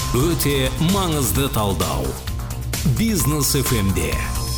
Өте маңызды талдау. Бизнес FM-де.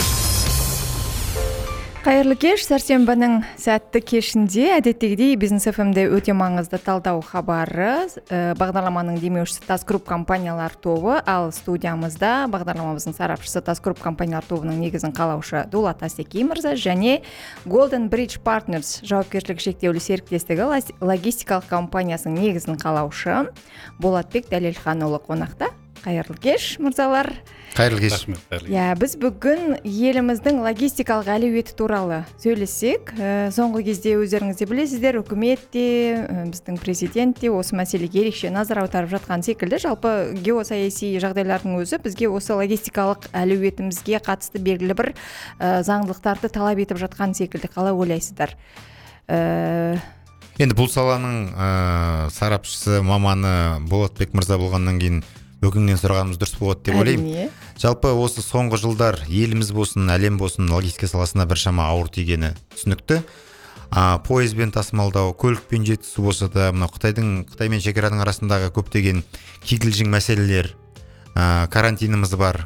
Қайырлы кеш, сәрсенбінің сәтті кешінде әдеттегідей Бизнес FM-де өте маңызды талдау хабары. Бағдарламаның демеушісі Тас Груп компаниялар тобы, ал студиямызда бағдарламамыздың сарапшысы Тас Груп компаниялар тобының негізін қалаушы Дулат Асеки мырза және Golden Bridge Partners жауапкершілігі шектеулі серіктестігі логистикалық компаниясының негізін қалаушы Болатбек Дәлелханұлы қонақта. Қайырлы кеш, мырзалар. Қайырлы кеш. Біз бүгін еліміздің логистикалық әлеуеті туралы сөйлесек. Соңғы кезде өздеріңіз де білесіздер, үкімет те, біздің президент те осы мәселеге ерекше назар аударып жатқан секілді. Жалпы геосаяси жағдайлардың өзі бізге осы логистикалық әлеуетімізге қатысты белгілі бір заңдылықтарды талап етіп жатқан секілді. Қалай ойлайсыздар? Енді бұл саланың сарапшысы, маманы Болатбек мырза болғаннан кейін бөгіңнен сұрағанымыз дұрыс болады деп ойлаймын. Жалпы осы соңғы жылдар еліміз болсын, әлем болсын, логистика саласына біршама ауыр тигені түсінікті. Пойызбен тасымалдау, көлікпен жеткізу болса да, мынау Қытай мен шекараның арасындағы көптеген кикілжің мәселелер, карантиніміз бар.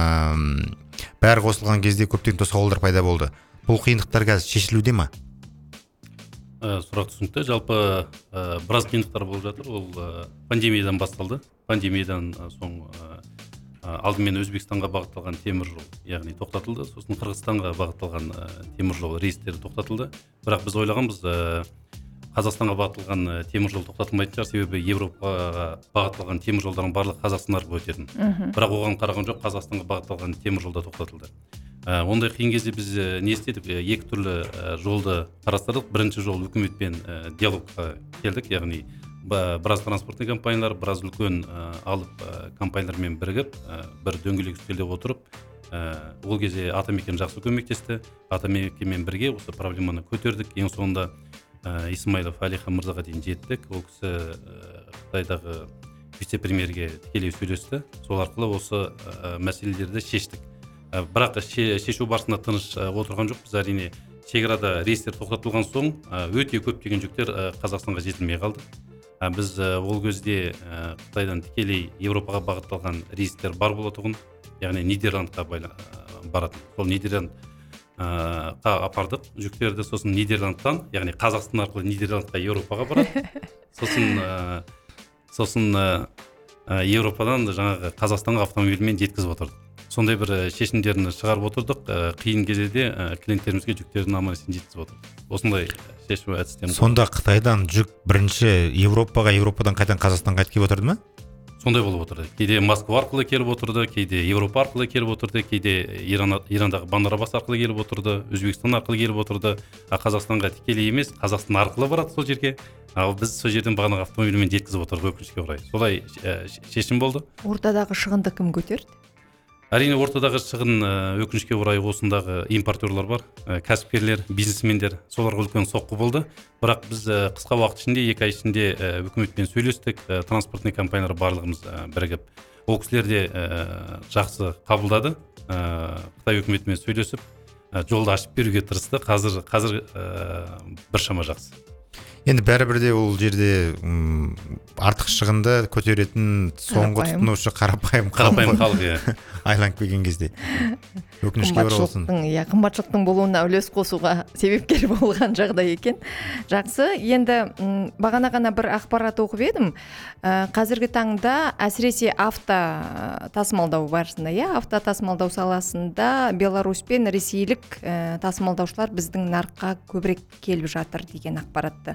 Бәрі қосылған кезде көптеген тосқауылдар пайда болды. Бұл қиындықтар қазір шешілуде ме? Сұрақ түсінікті. Жалпы біраз қиындықтар болып жатыр. Ол пандемиядан басталды. Пандемиядан соң алдымен Өзбекстанға бағытталған темір жол, яғни тоқтатылды. Сосын Қырғызстанға бағытталған темір жол рейстері тоқтатылды. Бірақ біз ойлағанбыз, Қазақстанға бағытталған темір жол тоқтатылмайтын шығар, себебі Европаға бағытталған темір жолдардың барлығы Қазақстан арқылы өтетін. Бірақ оған қараған жоқ, Қазақстанға бағытталған темір жолда тоқтатылды. Ондай қиын кезде біз не істедік? Екі түрлі жолды қарастырдық. Бірінші жол үкіметпен диалогқа келдік, яғни біраз транспортный компаниялар, біраз үлкен алып компаниялармен бірігіп, бір дөңгелек үстелде отырып, ол кезде Атамекен жақсы көмектесті. Атамекенмен бірге осы проблеманы көтердік. Ең соңында Исмайлов Әлихан мырзаға дейін жеттік. Ол кісі Қытайдағы вице-премьерге тікелей сөйлесті. Сол арқылы осы мәселелерді шештік. Бірақ шешу барысында тыныш отырған жоқ. Біз әрине шекарада рейстер тоқтатылған соң өте көптеген жүктер Қазақстанға жетілмей қалды. Біз ол кезде Қытайдан тікелей Европаға бағытталған рейстер бар болатұғын, яғни Нидерландқа баратын. Сол Нидерландқа апардық жүктерді, сосын Нидерландтан, яғни Қазақстан арқылы Нидерландқа Европаға барады. Сосын Европадан жаңағы Қазақстанға автомобильмен жеткізіп отырдық. Сондай бір шешімдерін шығарып отырдық. Қиын кезде де клиенттерімізге жүктерін аман-есен жеткізіп отырдық. Осындай шешу әдістер. Сонда Қытайдан жүк бірінші Европаға, Европадан қайтадан Қазақстанға келіп отырды ма? Сондай болып отырды. Кейде Москва арқылы келіп отырды, кейде Европа арқылы келіп отырды, кейде Ирандағы Бандар Аббас арқылы келіп отырды, Өзбекстан арқылы келіп отырды. Қазақстанға тікелей емес, Қазақстан арқылы барады сол жерге. Ал біз сол жерден бағанағы автомобильмен жеткізіп отырдық, өкінішке орай. Солай шешім болды. Ортадағы шығынды кім көтерді? Әрине ортадағы шығын өкінішке орай осындағы импортерлар бар, кәсіпкерлер, бизнесмендер, соларға үлкен соққы болды. Бірақ біз қысқа уақыт ішінде, 2 ай ішінде үкіметпен сөйлестік, транспортный компаниялар барлығымыз бірігіп. Ол кісілер де жақсы қабылдады. Қытай үкіметімен сөйлесіп, жолды ашып беруге тырысты. Қазір біршама жақсы. Енді бәрібір де ол жерде артық шығынды көтеретін соңғы тұтынушы қарапайым халық айланып келген кезде. Өкінішке орай болсын. Қымбатшылықтың болуына үлес қосуға себепкер болған жағдай екен. Жақсы. Енді бағана ғана бір ақпарат оқып едім. Қазіргі таңда әсіресе авто тасымалдау барысында, авто тасымалдау саласында Беларусь пен ресейлік тасымалдаушылар біздің нарыққа көбірек келіп жатыр деген ақпаратты.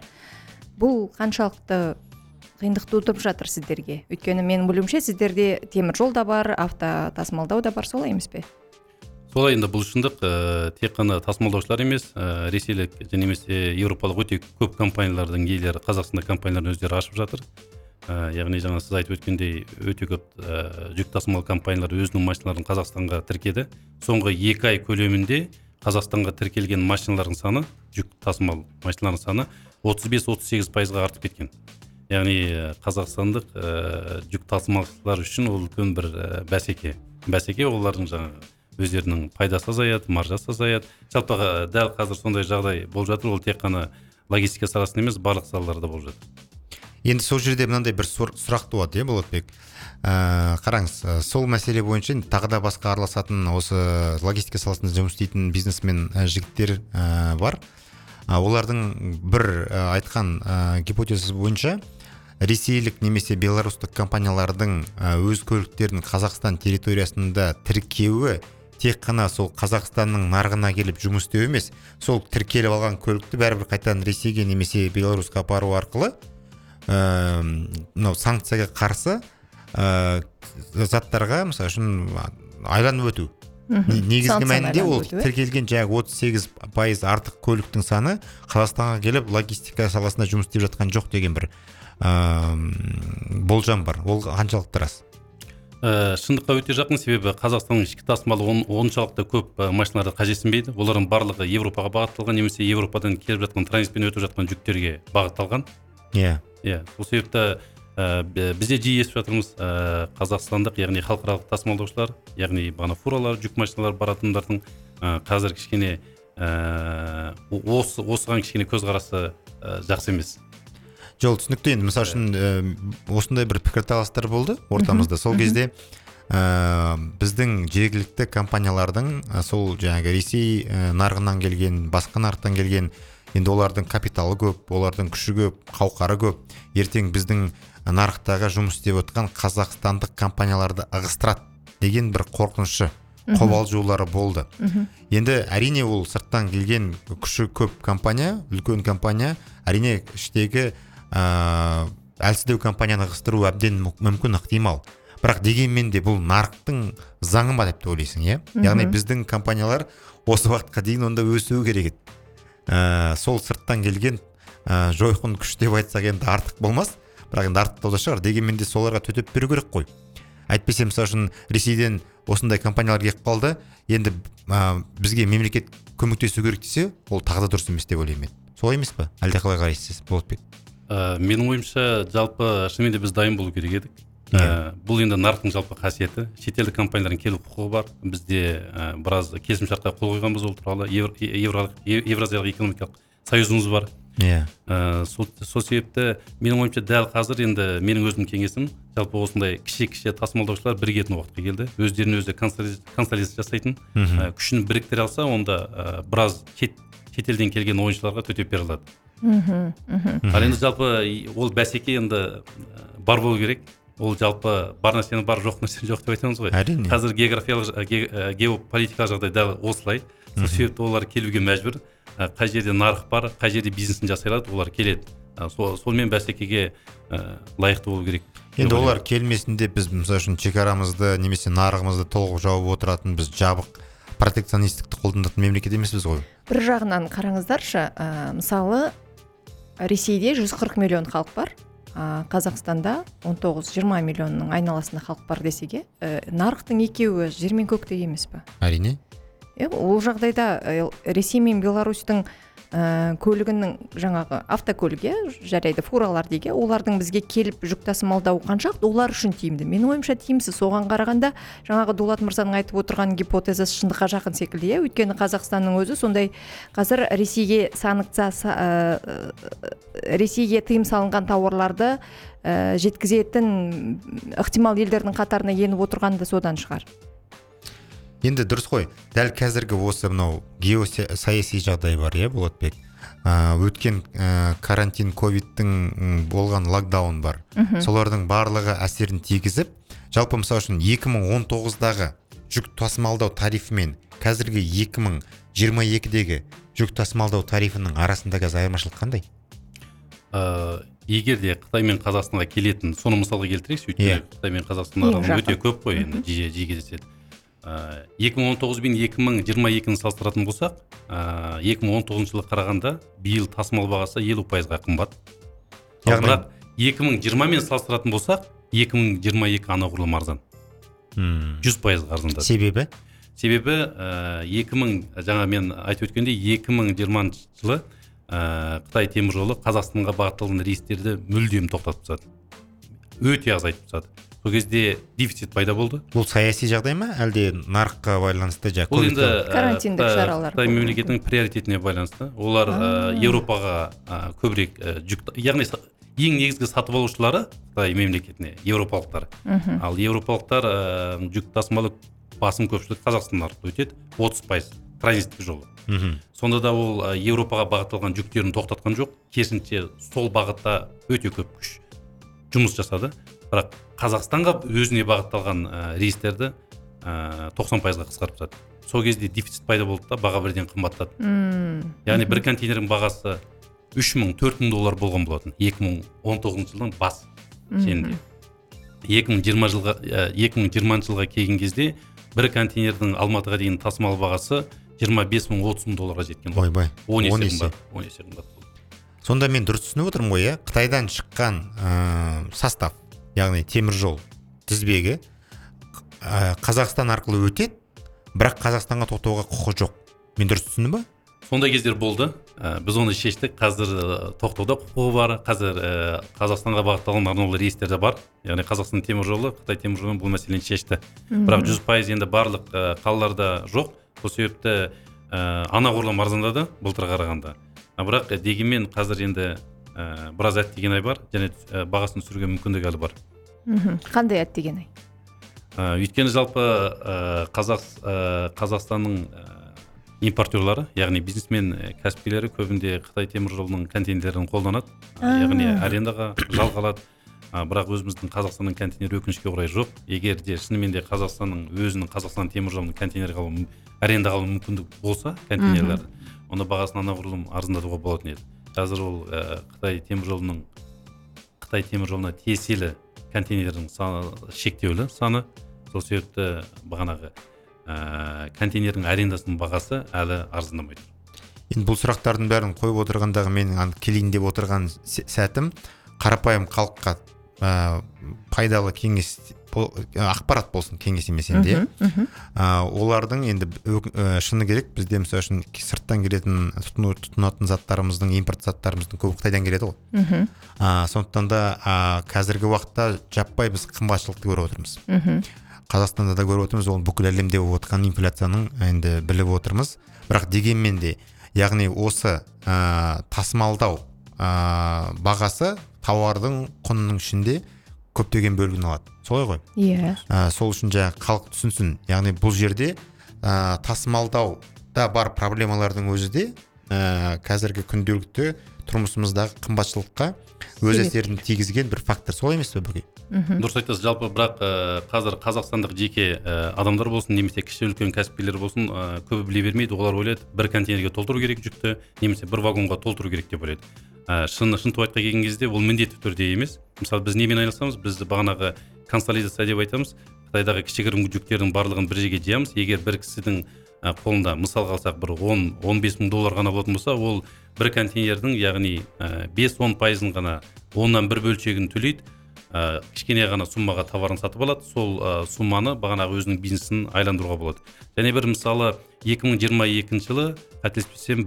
Бұл қаншалықты қиындық тудырып жатыр сіздерге? Өйткені менің білуімше сіздерде темір жол да бар, авто тасымалдау да бар, солай емес пе? Солай, енді бұл шындық тек қана тасымалдаушылар емес, ресейлік және Европалық өте көп компаниялардың иелері Қазақстанда компанияларын өздері ашып жатыр. Яғни жаңа сіз айтып өткендей өте көп жүк тасымал компаниялары өзінің машиналарын Қазақстанға тіркеді. Соңғы 2 ай көлемінде Қазақстанға тіркелген машиналардың саны, жүк тасымал машиналардың саны 35-38%-ға артып кеткен. Яғни қазақстандық жүк тасымалшылар үшін ол үлкен бір бәсеке. Бәсеке олардың жаңағы өздерінің пайдасы азаяды, маржасы азаяды. Жалпы дәл қазір сондай жағдай болып жатыр. Ол тек қана логистика саласында емес, барлық салаларда болып жатыр. Енді сол жерде мынандай бір сұрақ туады, Болатбек. Қараңыз, сол мәселе бойынша тағы да басқа араласатын осы логистика саласында жұмыс істейтін бизнесмен жігіттер бар. Олардың бір айтқан гипотезасы бойынша ресейлік немесе белорустық компаниялардың өз көліктерін Қазақстан территориясында тіркеуі тек қана сол Қазақстанның нарығына келіп жұмыс істеу емес, сол тіркеліп алған көлікті бәрібір қайтадан Ресейге немесе Беларусьқа апару арқылы санкцияға қарсы заттарға, мысалы үшін айланып өту. Негізгі мәнінде ол тіркелген 38% артық көліктің саны Қазақстанға келіп логистика саласында жұмыс істеп жатқан жоқ деген бір болжам бар. Ол қаншалықты рас? Шындыққа өте жақын, себебі Қазақстанның ішкі тасымалы оншалықты көп машиналарды қажетсінбейді. Олардың барлығы Европаға бағытталған немесе Европадан келіп жатқан транзитпен өтіп жатқан жүктерге бағытталған. Сол себепті бізде жиі естіп жатырмыз, қазақстандық, яғни халықаралық тасымалдаушылар, яғни бағана фуралар, жүк машиналар баратындардың қазір кішкене осыған кішкене көзқарасы жақсы емес. Жол түсінікті. Енді мысалы үшін осындай бір пікірталастар болды ортамызда. Сол кезде біздің жергілікті компаниялардың сол жаңағы Ресей нарығынан келген, басқа нарықтан келген, енді олардың капиталы көп, олардың күші көп, қауқары көп. Ертең біздің нарықтағы жұмыс істеп отқан қазақстандық компанияларды ығыстырады деген бір қорқынышы, қобалжулары болды. Енді әрине ол сырттан келген күші көп компания, үлкен компания, әрине іштегі әлсіздеу компанияны ығыстыру әбден мүмкін, ықтимал. Бірақ дегенмен де бұл нарықтың заңы ма деп ойлайсың, иә? Яғни біздің компаниялар осы уақытқа дейін онда өсуі керек еді. Сол сырттан келген жойқын күш деп айтсақ енді артық болмас, бірақ енді артық да шығар. Дегенмен де соларға төтеп беру керек қой. Әйтпесе мысалы үшін Ресейден осындай компаниялар келіп қалды, енді бізге мемлекет көмектесу керек десе, ол тағы да дұрыс емес деп ойлаймын. Солай емес пе? Әлде қалай қарайсыз, Болатбек? Менің ойымша, жалпы шынымен де біз дайын болу керек едік. Бұл енді нарықтың жалпы қасиеті. Шетелдік компаниялардың келу құқығы бар. Бізде біраз келісімшартқа қол қойғанбыз ол туралы. Евразиялық экономикалық союзымыз бар. Сол себепті менің ойымша дәл қазір енді менің өзім кеңесім, жалпы осындай кіші тасымалдаушылар бірігетін уақытқа келді. Өздерін өзі консолидация жасайтын, күшін біріктіре алса, онда біраз шетелден келген ойыншыларға төтеп бере алады. Ал енді жалпы ол бәсеке енді бар болу керек. Ол жалпы бар нәрсені бар, жоқ нәрсені жоқ деп айтамыз ғой. Қазір геополитикалық жағдай дәл осылай. Сол себепті олар келуге мәжбүр. Қай жерде нарық бар, қай жерде бизнесін жасай алады, олар келеді. Сонымен бәсекеге лайықты болу керек. Енді олар келмесінде біз мысалы үшін шекарамызды немесе нарығымызды толық жауып отыратын, біз жабық протекционистікті қолданатын мемлекет емеспіз ғой. Бір жағынан қараңыздаршы, мысалы Ресейде 140 миллион халық бар, Қазақстанда 19-20 миллионның айналасында халық бар десеге, нарықтың екеуі жер мен көктей емес пе? Әрине. Ол жағдайда Ресей мен Беларусьтың көлігінің жаңағы автокөліге, жарайды фуралар деге, олардың бізге келіп жүк тасымалдауы қаншақты олар үшін тиімді? Менің ойымша тиімсіз. Соған қарағанда жаңағы Дулат мырзаның айтып отырған гипотезасы шындыққа жақын секілді, өйткені Қазақстанның өзі сондай қазір Ресейге тыйым салынған тауарларды жеткізетін ықтимал елдердің қатарына еніп отырғаны да содан шығар. Енді дұрыс қой. Дәл қазіргі осы мынау геосаяси жағдай бар, Болатбек. Өткен карантин, ковидтің болған локдаун бар. Солардың барлығы әсерін тигізіп, жалпы мысалы үшін 2019-дағы жүк тасымалдау тарифі мен қазіргі 2022-дегі жүк тасымалдау тарифінің арасында қазір айырмашылық қандай? Егер де Қытай мен Қазақстанға келетін, соны мысалға келтірейікші, өйткені Қытай мен Қазақстан арасында өте көп қой, енді жиі кездеседі. 2019 бен 2022-ні салыстыратын болсақ, 2019 жылы қарағанда биыл тасымал бағасы 50%-ға қымбат. Бірақ 2020 мен салыстыратын болсақ, 2022 анағұрлым арзан. 100% арзандады. Себебі? Себебі жаңа мен айтып өткендей 2020 жылы Қытай темір жолы Қазақстанға бағытталған рейстерді мүлдем тоқтатып тастады. Өте азайтып тастады. Сол кезде дефицит пайда болды. Бұл саяси жағдай ма, әлде нарыққа байланысты? Ол енді карантиндік шаралар. Қытай мемлекетінің приоритетіне байланысты. Олар Европаға көбірек жүк, яғни ең негізгі сатып алушылары Қытай мемлекетіне еуропалықтар. Ал еуропалықтар жүк тасымалы басым көпшілік Қазақстан арқылы өтеді, 30% транзиттік жолы. Сонда да ол Еуропаға бағытталған жүктерін тоқтатқан жоқ, керісінше сол бағытта өте көп күш жұмыс жасады. Бірақ Қазақстанға өзіне бағытталған рейстерді 90%-ға қысқарып тастады. Сол кезде дефицит пайда болды да, баға бірден қымбаттады. Яғни бір контейнердің бағасы $3,000-4,000 болған болатын 2019 жылдың бас шенінде. 2020 жылға келген кезде бір контейнердің Алматыға дейін тасымал бағасы $25,000-30,000-ға жеткен. Ойбай. 10 есе қымбат болды. Сонда мен дұрыс түсініп отырмын ғой, Қытайдан шыққан состав, яғни темір жол тізбегі Қазақстан арқылы өтеді, бірақ Қазақстанға тоқтауға құқы жоқ. Мен дұрыс түсіндім ба? Сондай кездер болды. Біз оны шештік. Қазір тоқтауда құқығы бар. Қазір Қазақстанға бағытталған арнаулы рейстер де бар. Яғни Қазақстан темір жолы, Қытай темір жолы бұл мәселені шешті. Бірақ 100% енді барлық қалаларда жоқ. Сол себепті анағұрлым арзандады былтырға қарағанда. Бірақ дегенмен қазір енді біраз әттеген ай бар, және бағасын түсіруге мүмкіндік әлі бар. Қандай әттеген ай? Өйткені жалпы Қазақстанның импортерлары, яғни бизнесмен кәсіпкерлері көбінде Қытай темір жолының контейнерлерін қолданады, яғни арендаға жалға алады. Бірақ өзіміздің Қазақстанның контейнері өкінішке орай жоқ. Егер де шынымен де Қазақстан темір жолының контейнерге алу, арендаға алу мүмкіндік болса контейнерлерді, онда бағасын анағұрлым арзандатуға болатын еді. Қазір ол Қытай темір жолына тиесілі контейнердің шектеулі саны. Сол себепті бағанағы контейнердің арендасының бағасы әлі арзандамайды. Енді бұл сұрақтардың бәрін қойып отырғандағы менің келейін деп отырған сәтім қарапайым халыққа пайдалы кеңес, ақпарат болсын, кеңес емес енді. Олардың енді шыны керек, бізде мысалы үшін сырттан келетін тұтынатын заттарымыздың, импорт заттарымыздың көбі Қытайдан келеді ғой. Сондықтан да қазіргі уақытта жаппай біз қымбатшылықты көріп отырмыз. Қазақстанда да көріп отырмыз, ол бүкіл әлемде болып отырған инфляцияның енді біліп отырмыз. Бірақ дегенмен де, яғни осы тасымалдау бағасы тауардың құнының ішінде көптеген бөлігін алады. Солай ғой? Иә. Сол үшін халық түсінсін. Яғни бұл жерде тасымалдауда бар проблемалардың өзі де қазіргі күнделікті тұрмысымыздағы қымбатшылыққа өз әсерін тигізген бір фактор. Солай емес пе бүге? Дұрыс айтасыз. Жалпы бірақ қазір қазақстандық жеке адамдар болсын, немесе кіші үлкен кәсіпкерлер болсын, көбі біле бермейді. Олар ойлайды, бір контейнерге толтыру керек жүкті, немесе бір вагонға толтыру керек деп ойлайды. Шын туайтқа келген кезде ол міндетті түрде емес. Мысалы, біз немен айналысамыз? Біз бағанағы консолидация деп айтамыз. Қытайдағы кішігірім жүктердің барлығын бір жерге жиямыз. Егер бір кісінің қолында, мысалға алсақ, бір $10-15 мың ғана болатын болса, ол бір контейнердің, яғни 5-10% ғана оннан бір бөлшегін төлейді. Кішкене ғана суммаға товарын сатып алады. Сол сумманы бағанағы өзінің бизнесін айландыруға болады. Және бір мысалы 2022 жылы қателеспесем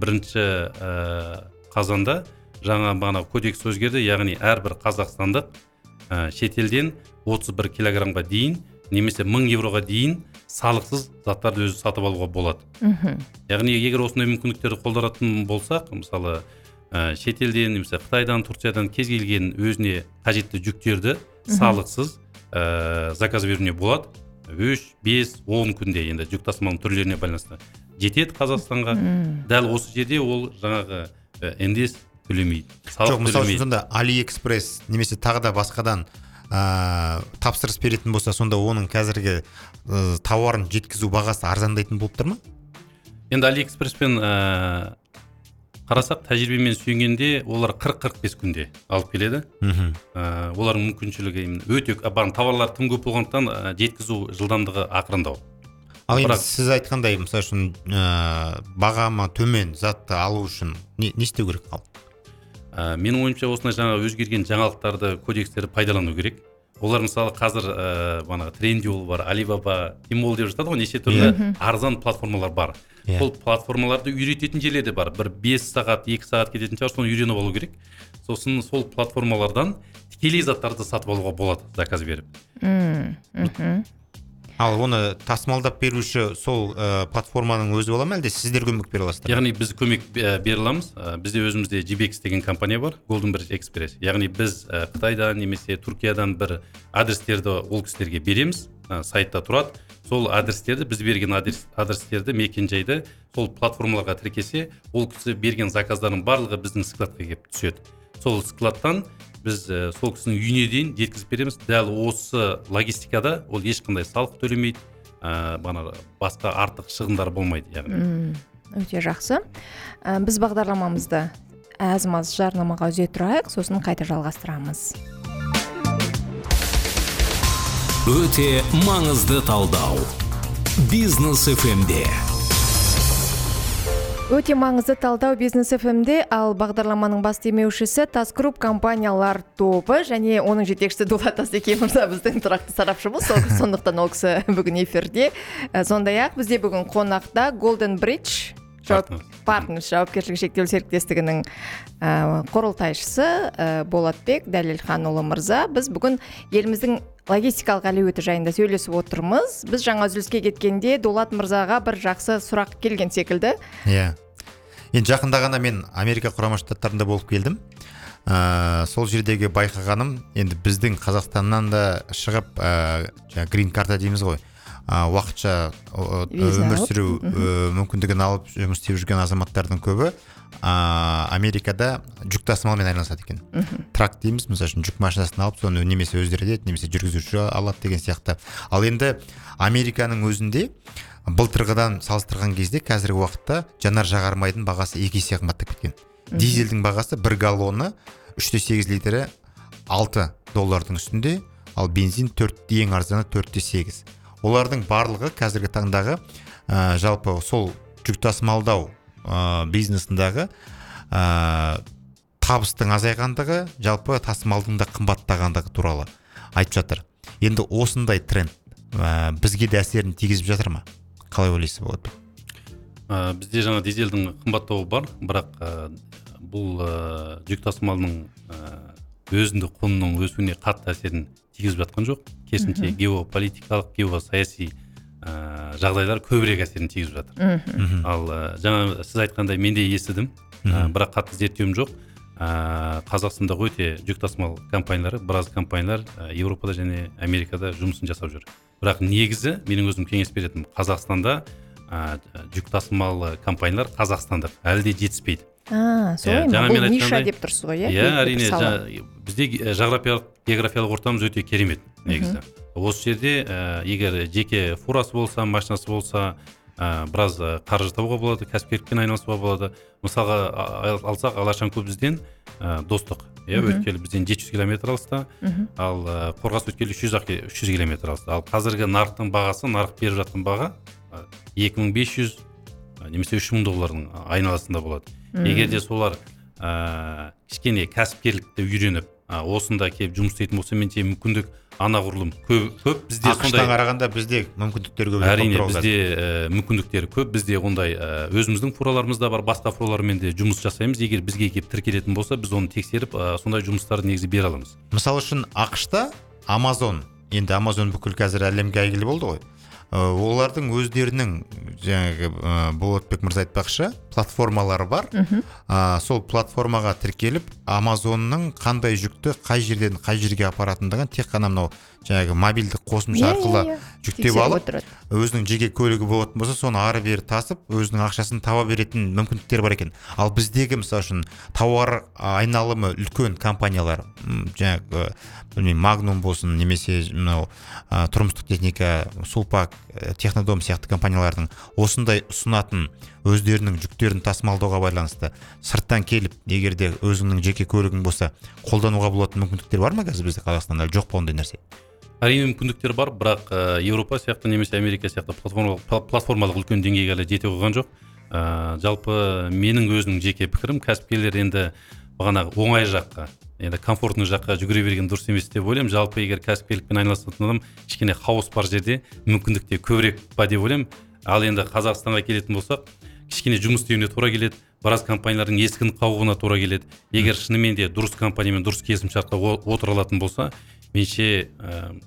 1 қазанда жаңа бағанағы кодекс өзгерді. Яғни әрбір қазақстандық шетелден 31 килограммға дейін немесе 1000 евроға дейін салықсыз заттарды өзі сатып алуға болады. Яғни егер осындай мүмкіндіктерді қолданатын болсақ, мысалы шетелден, немесе Қытайдан, Турциядан кез келген өзіне қажетті жүктерді салықсыз заказ беруіне болады. 3, 5, 10 күнде енді жүк тасымалының түрлеріне байланысты жетеді Қазақстанға. Дәл осы жерде ол жаңағы НДС төлемейді. Жоқ, мысалы үшін сонда AliExpress немесе тағы да басқадан тапсырыс беретін болса, сонда оның қазіргі тауарын жеткізу бағасы арзандайтын болып тұр ма? Енді AliExpresspен қарасақ, тәжірибемен сүйенгенде олар 40-45 күнде алып келеді. Олардың мүмкіншілігі өте товарлар тым көп болғандықтан жеткізу жылдамдығы ақырындау. Ал енді сіз айтқандай, мысалы үшін бағамы төмен затты алу үшін не істеу керек халық? Менің ойымша осындай жаңа өзгерген жаңалықтарды, кодекстерді пайдалану керек. Олар мысалы қазір Trendyol бар, Alibaba, Tmall деп жатады ғой, неше түрлі арзан платформалар бар. Сол платформаларды үйрететін жерлер де бар. Бір 5 сағат, 2 сағат кететін шығар, соны үйреніп алу керек. Сосын сол платформалардан тікелей заттарды сатып алуға болады, заказ беріп. Ал оны тасымалдап беруші сол платформаның өзі бола ма, әлде сіздер көмек бере аласыздар? Яғни біз көмек бере аламыз. Бізде өзімізде GBX деген компания бар, Golden Bridge Express. Яғни біз Қытайдан немесе Түркиядан бір адрестерді ол кісілерге береміз, сайтта тұрады. Сол адрестерді, біз берген адрестерді, мекен-жайды сол платформаларға тіркесе, ол кісі берген заказдардың барлығы біздің складқа келіп түседі. Сол складтан біз сол кісінің үйіне дейін жеткізіп береміз. Дәл осы логистикада ол ешқандай салық төлемейді, басқа артық шығындар болмайды, яғни. Өте жақсы. Біз бағдарламамызды аз-маз жарнамаға үзе тұрайық, сосын қайта жалғастырамыз. Өте маңызды талдау. Бизнес FM-де. Өте маңызды талдау Бизнес FM-де, ал бағдарламаның бас демеушісі Тас Групп компаниялар тобы және оның жетекшісі Дулат Асеке мырза біздің тұрақты сарапшымыз. Сондықтан ол кісі бүгін эфирде. Сондай-ақ бізде бүгін қонақта Golden Bridge Partners жауапкершілігі шектеулі серіктестігінің құрылтайшысы Болатбек Дәлелханұлы мырза. Біз бүгін еліміздің логистикалық әлеуеті жайында сөйлесіп отырмыз. Біз жаңа үзіліске кеткенде Дулат мырзаға бір жақсы сұрақ келген секілді. Иә. Енді жақында ғана мен Америка құрама штаттарында болып келдім. Сол жердегі байқағаным, енді біздің Қазақстаннан да шығып, грин карта дейміз ғой, уақытша өмір сүру мүмкіндігін алып жұмыс істеп жүрген азаматтардың көбі Америкада жүк тасымалымен айналысады екен. Трак дейміз, мысалы үшін жүк машинасын алып, соны немесе өздері етеді, немесе жүргізуші алады деген сияқты. Ал енді Американың өзінде былтырғыдан салыстырған кезде қазіргі уақытта жанар жағармайдың бағасы 2 есе қымбаттап кеткен. Дизельдің бағасы 1 галлоны 3,8 литрі $6 үстінде, ал бензин ең арзаны 4,8. Олардың барлығы қазіргі таңдағы жалпы сол жүк тасымалдау бизнесіндағы табыстың азайғандығы, жалпы тасымалдың да қымбаттағандығы туралы айтып жатыр. Енді осындай тренд бізге де әсерін тигізіп жатыр ма? Қалай ойлайсыз болады? Бізде жаңа дизельдің қымбаттауы бар, бірақ бұл жүк тасымалының өзіндік құнының өсуіне қатты әсерін тигізіп жатқан жоқ. Керісінше геополитикалық, геосаяси жағдайлар көбірек әсерін тигізіп жатыр. Ал жаңа сіз айтқандай мен де естідім, бірақ қатты зерттеуім жоқ. Қазақстанда өте жүк тасымал компаниялары, біраз компаниялар Еуропада және Америкада жұмысын жасап жүр. Бірақ негізі менің өзім кеңес беретінім, Қазақстанда жүк тасымал компаниялар Қазақстандық әлі де жетіспейді. Солай ма? Бұл ниша деп тұрсыз ғой, иә? Әрине, бізде географиялық ортамыз өте керемет негізі. Осы жерде егер жеке фурасы болса, машинасы болса, біраз қаржы табуға болады, кәсіпкерлікпен айналысуға болады. Мысалға алсақ, Алашанкөл бізден Достық, өткелі бізден 700 км алыста, ал Қорғас өткелі 300 км алыста. Ал қазіргі нарықтың бағасы, нарық беріп жатқан баға $2500 немесе $3000 айналасында болады. Егер де солар кішкене кәсіпкерлікті үйреніп, осында келіп жұмыс істейтін болса, менше мүмкіндік анағұрлым көп. Бізде ақштан қарағанда бізде мүмкіндіктер көп. Әрине, бізде мүмкіндіктер көп. Бізде ондай өзіміздің фураларымыз да бар, басқа фуралармен де жұмыс жасаймыз. Егер бізге келіп тіркелетін болса, біз оны тексеріп, сондай жұмыстарды негізі бере аламыз. Мысалы үшін ақшта Amazon, енді Amazon бүкіл қазір әлемге әйгілі болды ғой. Олардың өздерінің жаңағы Болатбек мырза айтпақшы платформалары бар. Сол платформаға тіркеліп, Amazonның қандай жүкті қай жерден қай жерге апаратындығын тек қана мынау жаңағы мобильдік қосымша арқылы жүктеп алып, өзінің жеке көлігі болатын болса, соны ары бері тасып, өзінің ақшасын таба беретін мүмкіндіктер бар екен. Ал біздегі мысалы үшін тауар айналымы үлкен компаниялар, жаңағы Magnum болсын, немесе мынау тұрмыстық техника, Сулпак, Технодом сияқты компаниялардың осындай ұсынатын өздерінің жүктерін тасымалдауға байланысты сырттан келіп, егер де өзіңнің жеке көлігің болса, қолдануға болатын мүмкіндіктер бар ма қазір бізде Қазақстанда? Жоқ па ондай нәрсе? Әрине мүмкіндіктер бар, бірақ Еуропа сияқты немесе Америка сияқты платформалық үлкен деңгейге әлі жете қойған жоқ. Жалпы менің өзінің жеке пікірім, кәсіпкерлер енді бағанағы оңай жаққа, енді комфортный жаққа жүгіре берген дұрыс емес деп ойлаймын. Жалпы егер кәсіпкерлікпен айналысатын адам кішкене хаос бар жерде мүмкіндікте көбірек па деп ойлаймын. Ал енді Қазақстанға келетін болсақ, кішкене жұмыс істеуіне тура келеді, біраз компаниялардың ескін қауығына тура келеді. Егер шынымен де дұрыс компаниямен дұрыс келісімшартқа отыра алатын болса, менше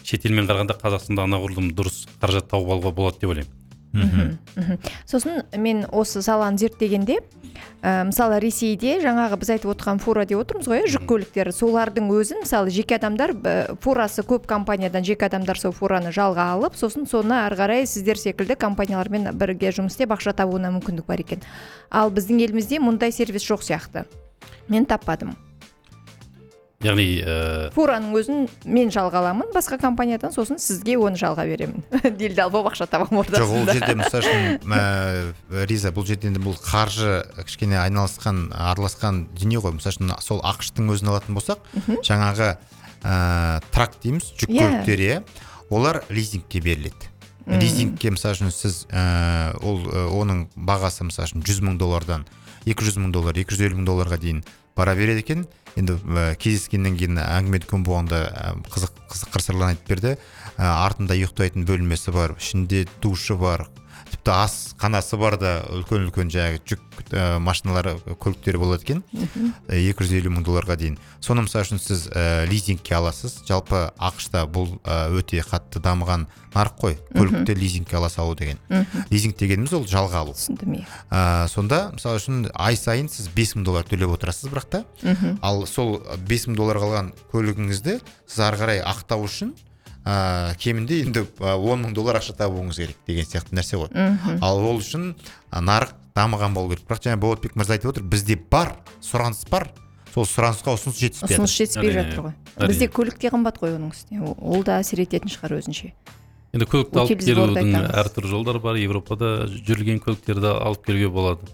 шетелмен қарағанда Қазақстанда анағұрлым дұрыс қаражат тауып алуға болады деп ойлаймын. Сосын мен осы саланы зерттегенде, мысалы Ресейде жаңағы біз айтып отырған фура деп отырмыз ғой, жүк көліктері, солардың өзін мысалы жеке адамдар, фурасы көп компаниядан жеке адамдар сол фураны жалға алып, сосын соны ары қарай сіздер секілді компаниялармен бірге жұмыс істеп ақша табуына мүмкіндік бар екен. Ал біздің елімізде мұндай сервис жоқ сияқты. Мен таппадым. Яғни фураның өзін мен жалға аламын басқа компаниядан, сосын сізге оны жалға беремін. Делдал болып ақша табамын ортасында. Жоқ, ол жерде мысалы Риза, бұл жерде бұл қаржы кішкене араласқан дүние ғой. Мысалы сол ақштың өзін алатын болсақ, жаңағы трак дейміз, жүк көліктері, олар лизингке беріледі. Лизингке мысалы сіз оның бағасы мысалы $100,000-дан $200,000, $250,000-ға дейін бара береді екен. Енді кездескеннен кейін әңгіме дүкен болғанда қызық қыр-сырлар айтып берді. Артында ұйықтайтын бөлмесі бар, ішінде душы бар, тіпті ас қанасы бар да, үлкен жаңағы жүк машиналары, көліктері болады екен. $250,000-ға дейін. Соны мысалы үшін сіз лизингке аласыз. Жалпы ақшта бұл өте қатты дамыған нарық қой. Көлікті лизингке ала салу деген. Лизинг дегеніміз ол жалға алу. Сонда мысалы үшін ай сайын сіз $5,000 төлеп отырасыз, бірақ та. Ал сол $5,000 қалған көлігіңізді сіз ары қарай ақтау үшін кемінде енді $10,000 ақша табуыңыз керек деген сияқты нәрсе ғой. Ал ол үшін нарық дамыған болу керек. Бірақ жаңа Болатбек мырза айтып отыр, бізде бар, сұраныс бар. Сол сұранысқа ұсыныс жетіспей жатыр ғой. Бізде көлік те қымбат қой оның үстіне. Ол да әсер ететін шығар өзінше. Енді көлікті алып келудің әртүрлі жолдары бар. Европада жүрген көліктерді алып келуге болады.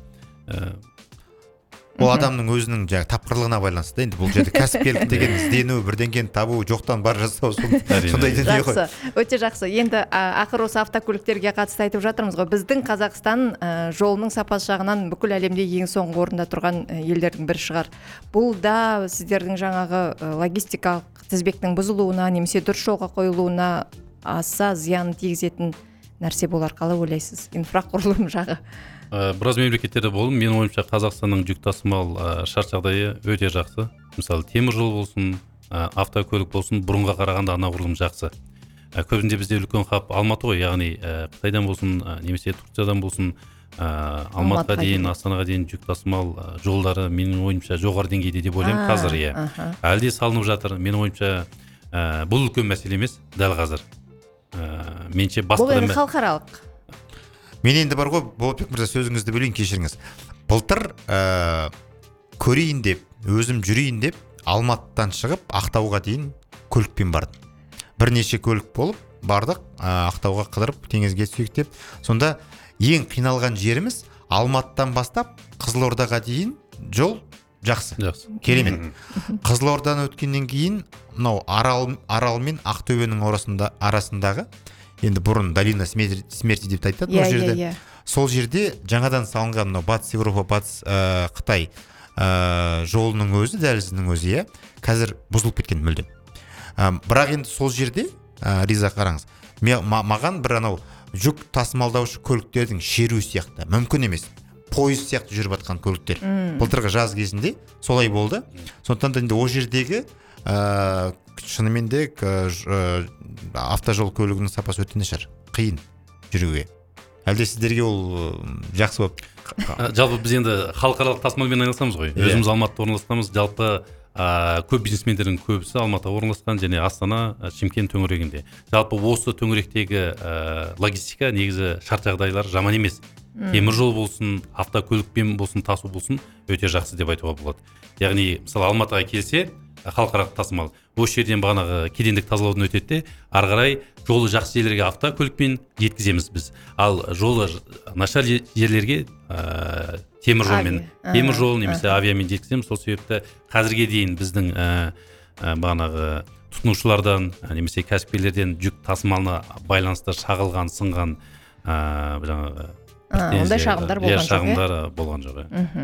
Ол адамның өзінің тапқырлығына байланысты. Енді бұл жерде кәсіпкерлік деген іздену, бірдеңені табу, жоқтан бар жасау сондай дүние ғой. Өте жақсы. Енді ақыр осы автокөліктерге қатысты айтып жатырмыз ғой. Біздің Қазақстан жолының сапасы жағынан бүкіл әлемде ең соңғы орында тұрған елдердің бірі шығар. Бұл да сіздердің жаңағы логистикалық тізбектің бұзылуына, немесе дұрыс жолға қойылуына аса зиян тигізетін нәрсе болар. Қалай ойлайсыз? Инфрақұрылым жағы. Біраз мемлекеттерде болдым. Менің ойымша Қазақстанның жүк тасымал шарт жағдайы өте жақсы. Мысалы, темір жол болсын, автокөлік болсын, бұрынға қарағанда анағұрлым жақсы. Көбінде бізде үлкен хаб Алматы ғой, яғни Қытайдан болсын, немесе Турциядан болсын, Алматыға дейін, Астанаға дейін жүк тасымал жолдары менің ойымша жоғары деңгейде деп ойлаймын қазір. Әлде салынып жатыр. Менің ойымша бұл үлкен мәселе емес дәл қазір. Бұл енді халықаралық. Мен енді бар ғой, Болатбек мырза, сөзіңізді бөлейін, кешіріңіз. Былтыр көрейін деп, өзім жүрейін деп, Алматыдан шығып, Ақтауға дейін көлікпен бардым. Бірнеше көлік болып, бардық, Ақтауға қыдырып, теңізге түсейік деп. Сонда ең қиналған жеріміз Алматыдан бастап, Қызылордаға дейін жол жақсы. Керемет. Қызылордадан өткеннен кейін, мынау Арал мен Ақтөбенің арасындағы, енді бұрын долина смерти деп айтады ол жерде. Сол жерде жаңадан салынған батыс Европа, батыс Қытай жолының өзі, дәлізінің өзі, қазір бұзылып кеткен мүлдем. Бірақ енді сол жерде, Риза, қараңыз, маған бір анау жүк тасымалдаушы көліктердің шеру сияқты, мүмкін емес, пойыз сияқты жүріп жатқан көліктер. Былтырғы жаз кезінде солай болды. Сондықтан да енді ол жердегі шынымен де автожол көлігінің сапасы өте нашар, қиын жүруге. Әлде сіздерге ол жақсы болып? Жалпы біз енді халықаралық тасымалмен айналысамыз ғой. Өзіміз Алматыда орналасқанбыз. Жалпы көп бизнесмендердің көбісі Алматыда орналасқан, және Астана, Шымкент төңірегінде. Жалпы осы төңіректегі логистика негізі шарт жағдайлар жаман емес. Темір жол болсын, автокөлікпен болсын, тасу болсын, өте жақсы деп айтуға болады. Яғни, мысалы Алматыға келсе, халықаралық тасымал осы жерден бағанағы кедендік тазалаудан өтеді де, ары қарай жолы жақсы жерлерге автокөлікпен жеткіземіз біз. Ал жолы нашар жерлерге темір жол немесе авиамен жеткіземіз. Сол себепті қазірге дейін біздің бағанағы тұтынушылардан немесе кәсіпкерлерден жүк тасымалына байланысты шағылған, сынған жаңағы ондай шағымдар болған жоқ.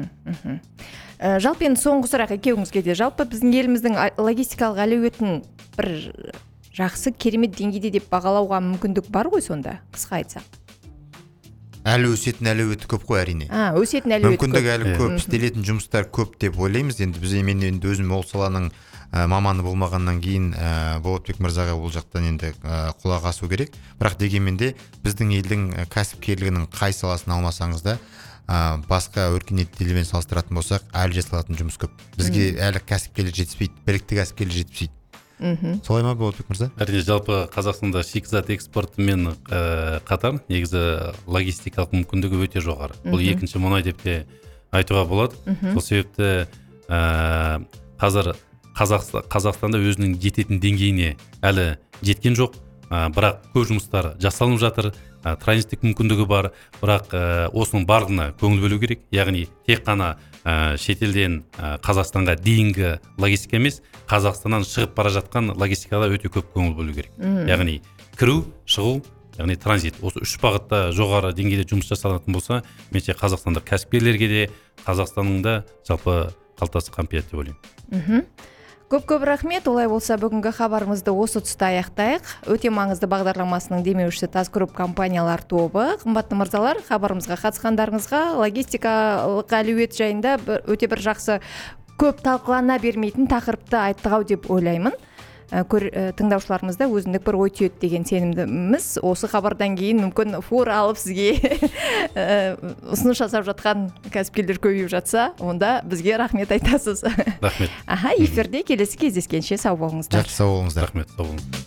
Жалпы енді соңғы сұрақ екеуіңізге де. Жалпы біздің еліміздің логистикалық әлеуетін бір жақсы, керемет деңгейде деп бағалауға мүмкіндік бар ғой сонда, қысқа айтсақ? Әлі өсетін әлеуеті көп қой, әрине. Өсетін әлеуеті көп. Мүмкіндік әлі көп, істелетін жұмыстар көп деп ойлаймыз. Енді біз мен өзім ол саланың маманы болмағаннан кейін Болатбек мырзаға ол жақтан енді құлақ асу керек. Бірақ дегенмен де біздің елдің кәсіпкерлігінің қай саласын алмасаңыз да басқа өркениетті елмен салыстыратын болсақ, әлі жасалатын жұмыс көп. Бізге әлі кәсіпкерлер жетіспейді, білікті кәсіпкерлер жетіспейді. Солай ма Болатбек мырза? Әрине, жалпы Қазақстанда шикізат экспортымен қатар негізі логистикалық мүмкіндігі өте жоғары. Бұл екінші мұнай деп те айтуға болады. Сол себепті қазір Қазақстанда өзінің жететін деңгейіне әлі жеткен жоқ. Бірақ көп жұмыстар жасалынып жатыр. Транзиттік мүмкіндігі бар, бірақ осының барлығына көңіл бөлу керек. Яғни тек қана шетелден Қазақстанға дейінгі логистика емес, Қазақстаннан шығып бара жатқан логистикада өте көп көңіл бөлу керек. Яғни кіру, шығу, яғни транзит. Осы үш бағытта жоғары деңгейде жұмыс жасалатын болса, менше қазақстандық кәсіпкерлерге де, Қазақстанның да жалпы қалтасы қамтиды деп ойлаймын. Көп рахмет. Олай болса, бүгінгі хабарымызды осы тұста аяқтайық. Өте маңызды бағдарламасының демеушісі Тазгрупп компаниялар тобы. Қымбатты мырзалар, хабарымызға қатысқандарыңызға, логистикалық әлеует жайында өте бір жақсы, көп талқылана бермейтін тақырыпты айттық ау деп ойлаймын. Тыңдаушыларымызда өзіндік бір ой түйеді деген сенімдіміз. Осы хабардан кейін мүмкін фор алып сізге ұсыныс жасап жатқан кәсіпкерлер көбейіп жатса, онда бізге рахмет айтасыз. Рахмет. Эфирде келесі кездескенше сау болыңыздар. Жақсы, сау болыңыздар. Рахмет, сау болыңыздар.